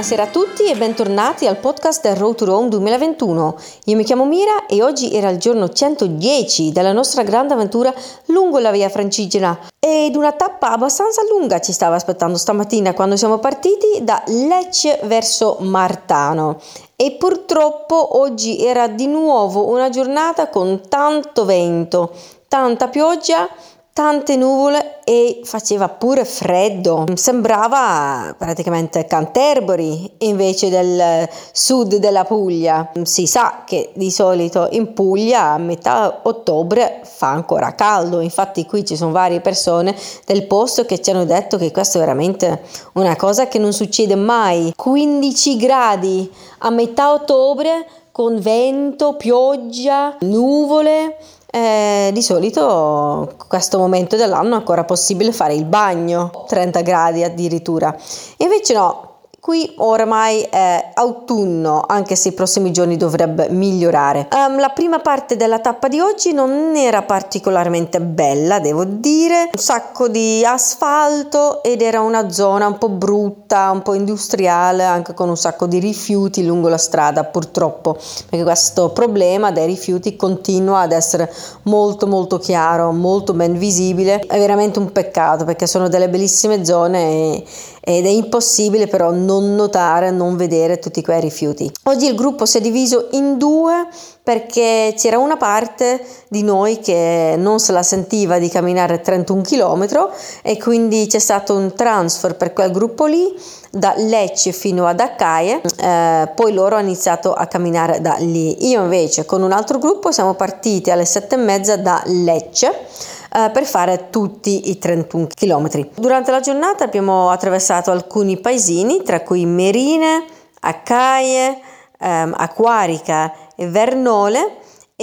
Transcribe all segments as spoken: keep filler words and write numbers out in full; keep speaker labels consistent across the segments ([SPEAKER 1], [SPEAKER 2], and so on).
[SPEAKER 1] Buonasera a tutti e bentornati al podcast del Road to Rome duemilaventuno. Io mi chiamo Mira e oggi era il giorno centodieci della nostra grande avventura lungo la via Francigena ed una tappa abbastanza lunga ci stava aspettando stamattina quando siamo partiti da Lecce verso Martano. E purtroppo oggi era di nuovo una giornata con tanto vento, tanta pioggia, tante nuvole e faceva pure freddo. Sembrava praticamente Canterbury invece del sud della Puglia. Si sa che di solito in Puglia a metà ottobre fa ancora caldo, infatti qui ci sono varie persone del posto che ci hanno detto che questo è veramente una cosa che non succede mai. quindici gradi a metà ottobre con vento, pioggia, nuvole. Eh, di solito questo momento dell'anno è ancora possibile fare il bagno, trenta gradi addirittura, invece no, qui oramai è autunno, anche se i prossimi giorni dovrebbe migliorare. Um, la prima parte della tappa di oggi non era particolarmente bella, devo dire, un sacco di asfalto ed era una zona un po' brutta, un po' industriale, anche con un sacco di rifiuti lungo la strada, purtroppo, perché questo problema dei rifiuti continua ad essere molto molto chiaro, molto ben visibile. È veramente un peccato perché sono delle bellissime zone e, ed è impossibile però non notare, non vedere tutti quei rifiuti. Oggi il gruppo si è diviso in due perché c'era una parte di noi che non se la sentiva di camminare trentuno chilometri e quindi c'è stato un transfer per quel gruppo lì da Lecce fino ad Accaie, eh, poi loro hanno iniziato a camminare da lì. Io invece con un altro gruppo siamo partiti alle sette e mezza da Lecce Uh, per fare tutti i trentuno chilometri. Durante la giornata abbiamo attraversato alcuni paesini, tra cui Merine, Accaie, um, Acquarica e Vernole,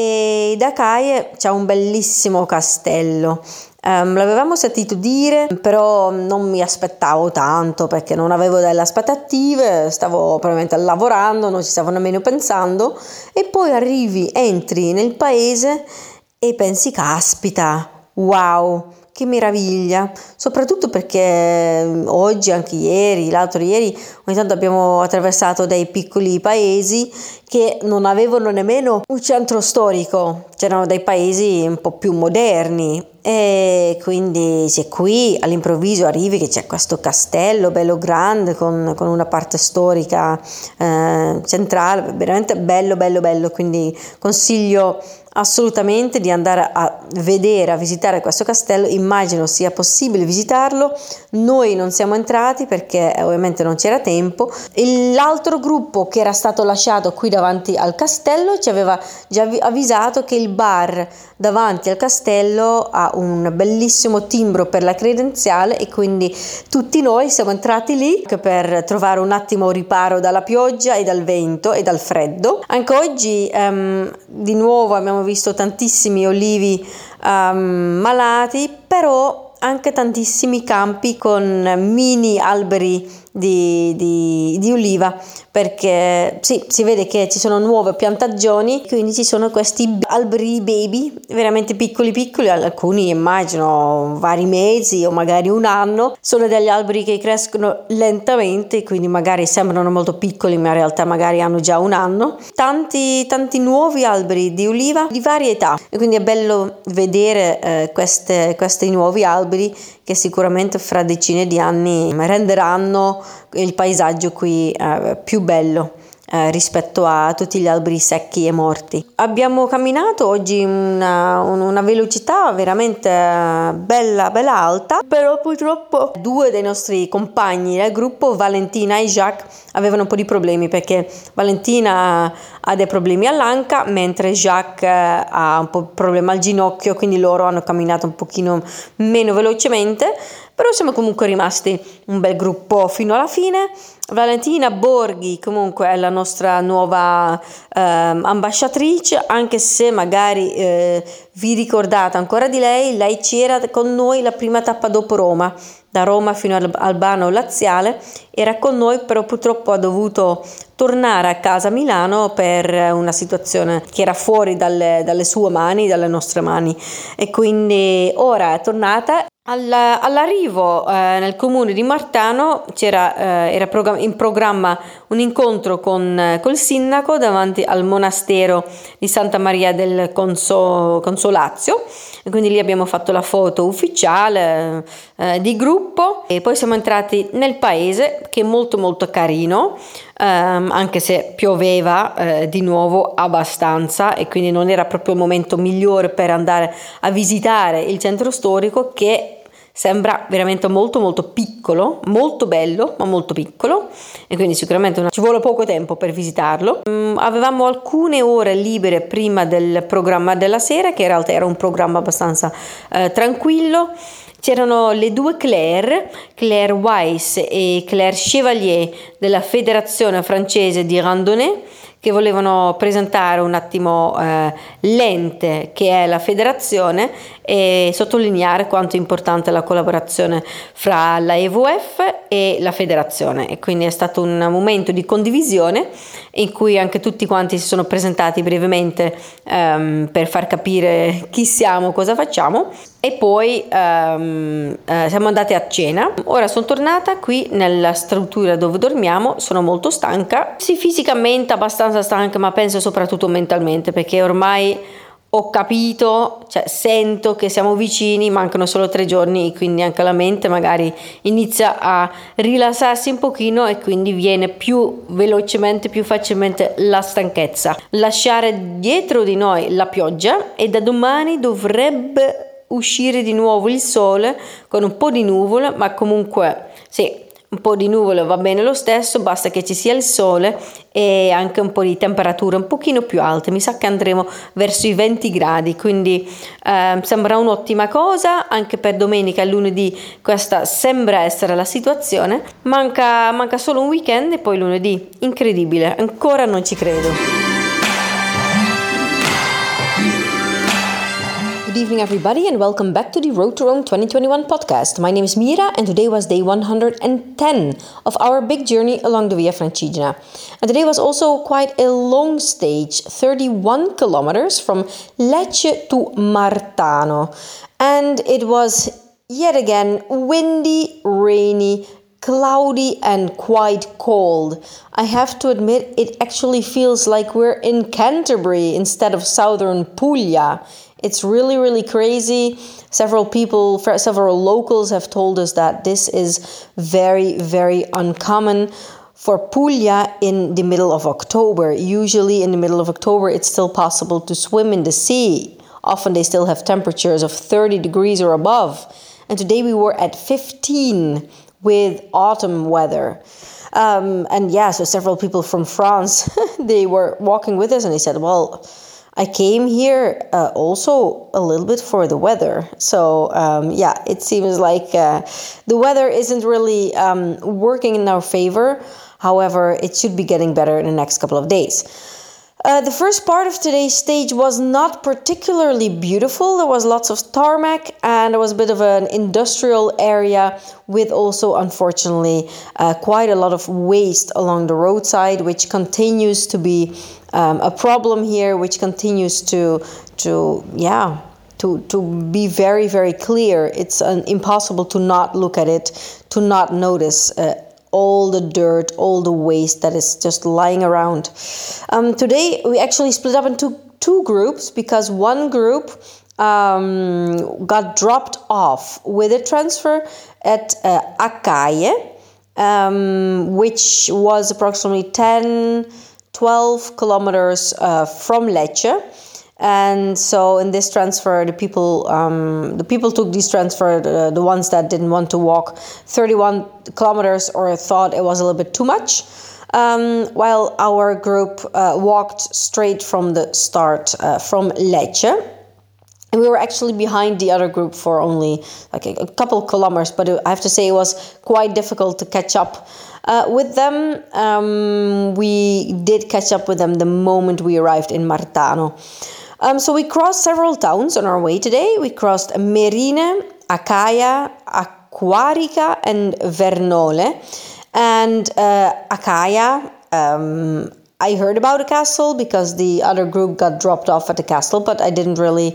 [SPEAKER 1] e da Accaie c'è un bellissimo castello. Um, l'avevamo sentito dire, però non mi aspettavo tanto perché non avevo delle aspettative, stavo probabilmente lavorando, non ci stavo nemmeno pensando, e poi arrivi, entri nel paese e pensi, caspita, wow, che meraviglia, soprattutto perché oggi, anche ieri, l'altro ieri, ogni tanto abbiamo attraversato dei piccoli paesi che non avevano nemmeno un centro storico, c'erano dei paesi un po' più moderni e quindi se qui all'improvviso arrivi che c'è questo castello bello grande con, con una parte storica eh, centrale, veramente bello bello bello, quindi consiglio assolutamente di andare a vedere, a visitare questo castello. Immagino sia possibile visitarlo, noi non siamo entrati perché ovviamente non c'era tempo. E l'altro gruppo che era stato lasciato qui davanti al castello ci aveva già avvisato che il bar davanti al castello ha un bellissimo timbro per la credenziale e quindi tutti noi siamo entrati lì per trovare un attimo riparo dalla pioggia e dal vento e dal freddo. Anche oggi um, di nuovo abbiamo visto tantissimi olivi um, malati, però anche tantissimi campi con mini alberi di, di, di oliva, perché sì, si vede che ci sono nuove piantagioni, quindi ci sono questi alberi baby veramente piccoli piccoli, alcuni immagino vari mesi o magari un anno. Sono degli alberi che crescono lentamente, quindi magari sembrano molto piccoli ma in realtà magari hanno già un anno. Tanti tanti nuovi alberi di oliva di varie età e quindi è bello vedere eh, queste, questi nuovi alberi che sicuramente fra decine di anni renderanno il paesaggio qui eh, più bello eh, rispetto a tutti gli alberi secchi e morti. Abbiamo camminato oggi una, una velocità veramente bella bella alta, però purtroppo due dei nostri compagni del gruppo, Valentina e Jacques, avevano un po' di problemi perché Valentina ha dei problemi all'anca mentre Jacques ha un po' di problema al ginocchio, quindi loro hanno camminato un pochino meno velocemente, però siamo comunque rimasti un bel gruppo fino alla fine. Valentina Borghi comunque è la nostra nuova eh, ambasciatrice, anche se magari eh, vi ricordate ancora di lei, lei c'era con noi la prima tappa dopo Roma, da Roma fino al Albano Laziale, era con noi, però purtroppo ha dovuto tornare a casa a Milano per una situazione che era fuori dalle, dalle sue mani, dalle nostre mani, e quindi ora è tornata Alla- all'arrivo eh, nel comune di Martano c'era eh, era progra- in programma un incontro con eh, col sindaco davanti al monastero di Santa Maria del Conso- Consolazio, e quindi lì abbiamo fatto la foto ufficiale eh, di gruppo, e poi siamo entrati nel paese, che è molto molto carino, ehm, anche se pioveva eh, di nuovo abbastanza, e quindi non era proprio il momento migliore per andare a visitare il centro storico, che sembra veramente molto molto piccolo, molto bello, ma molto piccolo, e quindi sicuramente una- ci vuole poco tempo per visitarlo. Mm, avevamo alcune ore libere prima del programma della sera, che in realtà era un programma abbastanza eh, tranquillo. C'erano le due Claire, Claire Weiss e Claire Chevalier della Federazione francese di randonnée, che volevano presentare un attimo eh, l'ente che è la federazione, e sottolineare quanto è importante la collaborazione fra la E V F e la federazione, e quindi è stato un momento di condivisione in cui anche tutti quanti si sono presentati brevemente ehm, per far capire chi siamo, cosa facciamo, e poi ehm, eh, siamo andati a cena. Ora sono tornata qui nella struttura dove dormiamo, sono molto stanca, sì, fisicamente abbastanza stanca, ma penso soprattutto mentalmente, perché ormai ho capito, cioè sento che siamo vicini, mancano solo tre giorni, quindi anche la mente magari inizia a rilassarsi un pochino, e quindi viene più velocemente, più facilmente la stanchezza. Lasciare dietro di noi la pioggia, e da domani dovrebbe uscire di nuovo il sole con un po' di nuvole, ma comunque sì, un po' di nuvole va bene lo stesso, basta che ci sia il sole e anche un po' di temperature un pochino più alte. Mi sa che andremo verso i venti gradi, quindi eh, sembra un'ottima cosa. Anche per domenica e lunedì questa sembra essere la situazione. Manca, manca solo un weekend e poi lunedì. Incredibile, ancora non ci credo. Good evening, everybody, and welcome back to the Road to Rome twenty twenty-one podcast. My name is Mira, and today was day one hundred ten of our big journey along the Via Francigena. And today was also quite a long stage, thirty-one kilometers from Lecce to Martano. And it was yet again windy, rainy, cloudy, and quite cold. I have to admit, it actually feels like we're in Canterbury instead of southern Puglia. It's really, really crazy. Several people, several locals have told us that this is very, very uncommon for Puglia in the middle of October. Usually in the middle of October, it's still possible to swim in the sea. Often they still have temperatures of thirty degrees or above. And today we were at fifteen with autumn weather. Um, and yeah, so several people from France, they were walking with us, and they said, well, I came here uh, also a little bit for the weather. So um, yeah, it seems like uh, the weather isn't really um, working in our favor. However, it should be getting better in the next couple of days. Uh, the first part of today's stage was not particularly beautiful. There was lots of tarmac, and there was a bit of an industrial area with also, unfortunately, uh, quite a lot of waste along the roadside, which continues to be um, a problem here, which continues to, to yeah, to, to be very, very clear. It's uh, impossible to not look at it, to not notice uh, all the dirt, all the waste that is just lying around. Um, today, we actually split up into two groups, because one group um, got dropped off with a transfer at uh, Accaie, um, which was approximately ten, twelve kilometers uh, from Lecce. And so in this transfer, the people um, the people took this transfer, the, the ones that didn't want to walk thirty-one kilometers or thought it was a little bit too much, um, while our group uh, walked straight from the start uh, from Lecce. And we were actually behind the other group for only like a, a couple kilometers, but I have to say it was quite difficult to catch up uh, with them. Um, we did catch up with them the moment we arrived in Martano. Um, so we crossed several towns on our way today. We crossed Merine, Accaia, Acquarica, and Vernole. And uh, Accaia, um, I heard about the castle because the other group got dropped off at the castle, but I didn't really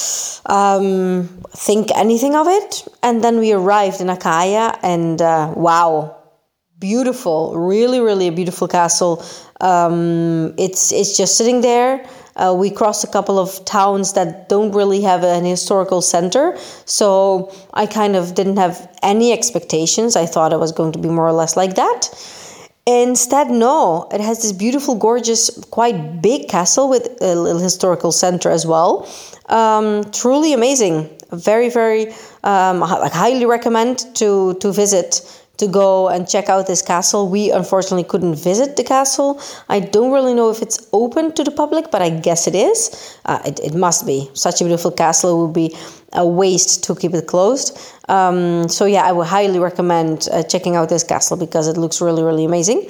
[SPEAKER 1] um, think anything of it. And then we arrived in Acaia, and uh, wow, beautiful, really, really a beautiful castle. Um, it's it's just sitting there. Uh, we crossed a couple of towns that don't really have an historical center, so I kind of didn't have any expectations. I thought it was going to be more or less like that. Instead, no, it has this beautiful, gorgeous, quite big castle with a little historical center as well. Um, truly amazing. Very, very, um, like highly recommend to, to visit, to go and check out this castle. We unfortunately couldn't visit the castle. I don't really know if it's open to the public, but I guess it is. Uh, it, it must be. Such a beautiful castle. It would be a waste to keep it closed. Um, so yeah, I would highly recommend uh, checking out this castle because it looks really, really amazing.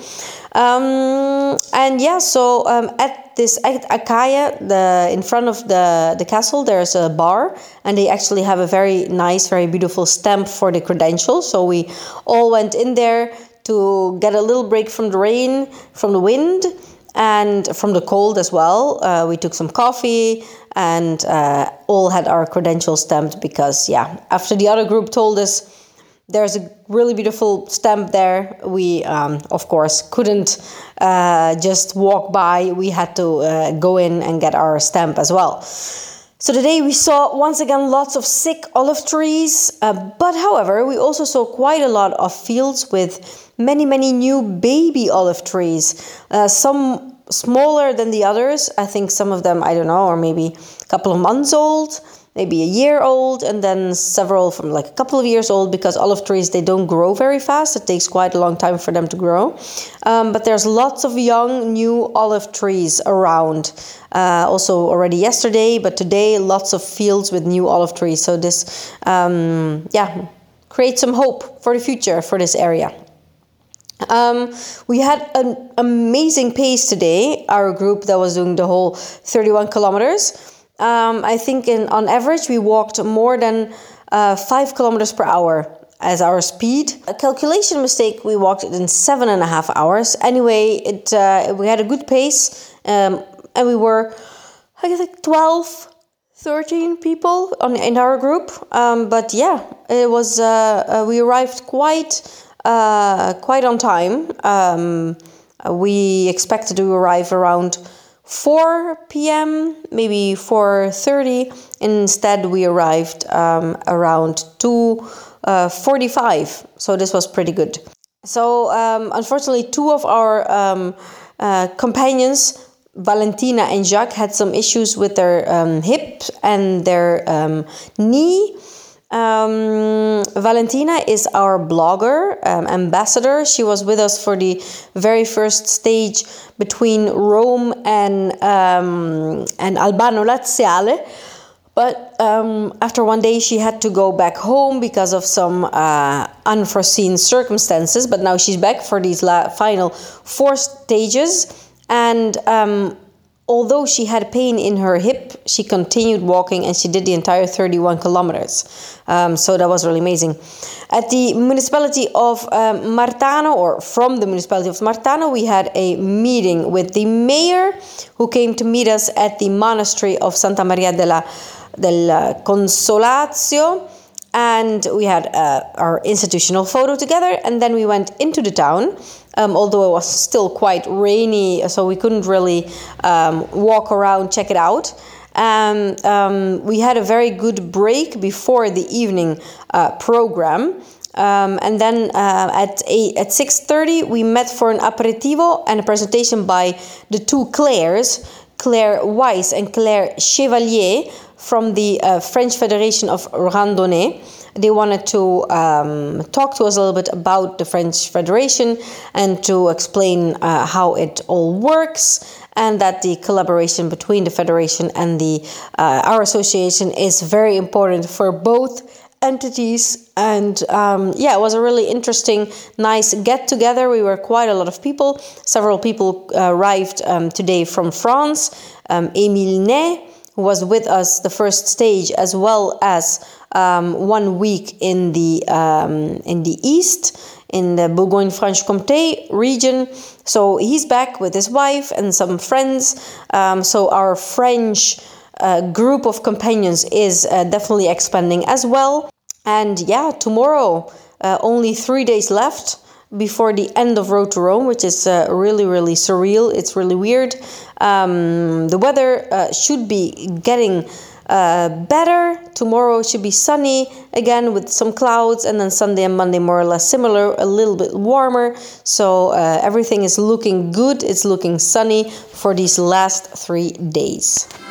[SPEAKER 1] Um, and yeah, so um, at this at Acaia, the in front of the, the castle, there's a bar, and they actually have a very nice, very beautiful stamp for the credentials. So we all went in there to get a little break from the rain, from the wind, and from the cold as well. Uh, we took some coffee and uh, all had our credentials stamped because, yeah, after the other group told us there's a really beautiful stamp there, we, um, of course, couldn't uh, just walk by. We had to uh, go in and get our stamp as well. So today we saw, once again, lots of sick olive trees, uh, but however, we also saw quite a lot of fields with many, many new baby olive trees. Uh, some smaller than the others. I think some of them, I don't know, are maybe a couple of months old, maybe a year old, and then several from like a couple of years old, because olive trees, they don't grow very fast. It takes quite a long time for them to grow. Um, but there's lots of young, new olive trees around. Uh, also already yesterday, but today, lots of fields with new olive trees. So this, um, yeah, creates some hope for the future for this area. Um, we had an amazing pace today, our group that was doing the whole thirty-one kilometers. Um, I think in on average we walked more than uh, five kilometers per hour as our speed. A calculation mistake, we walked it in seven and a half hours. Anyway, it uh, we had a good pace, um, and we were, I guess, like twelve, thirteen people on in our group. Um, but yeah, it was. Uh, uh, we arrived quite. Uh, quite on time. Um, we expected to arrive around four p.m., maybe four thirty. Instead, we arrived um, around two forty-five. So this was pretty good. So um, unfortunately, two of our um, uh, companions, Valentina and Jacques, had some issues with their um, hip and their um, knee. Um, Valentina is our blogger, um, ambassador. She was with us for the very first stage between Rome and um, and Albano Laziale. But um, after one day, she had to go back home because of some uh, unforeseen circumstances. But now she's back for these la- final four stages. And um, although she had pain in her hip, she continued walking and she did the entire thirty-one kilometers. Um, so that was really amazing. At the municipality of um, Martano, or from the municipality of Martano, we had a meeting with the mayor, who came to meet us at the monastery of Santa Maria della, del Consolatio. And we had uh, our institutional photo together, and then we went into the town, um, although it was still quite rainy, so we couldn't really um, walk around, check it out. Um, um, we had a very good break before the evening uh, program, um, and then uh, at eight, at six thirty we met for an aperitivo and a presentation by the two Claires, Claire Weiss and Claire Chevalier, from the uh, French Federation of Randonnée. They wanted to um, talk to us a little bit about the French Federation and to explain uh, how it all works, and that the collaboration between the Federation and the uh, our association is very important for both entities. And um, yeah, it was a really interesting, nice get-together. We were quite a lot of people. Several people uh, arrived um, today from France. Um, Émile Ney, who was with us the first stage, as well as um, one week in the um, in the east, in the Bourgogne-Franche-Comté region. So he's back with his wife and some friends. Um, so our French uh, group of companions is uh, definitely expanding as well. And yeah, tomorrow, uh, only three days left before the end of Road to Rome, which is uh, really, really surreal. It's really weird. Um, the weather uh, should be getting uh, better. Tomorrow should be sunny again with some clouds, and then Sunday and Monday more or less similar, a little bit warmer. So uh, everything is looking good. It's looking sunny for these last three days.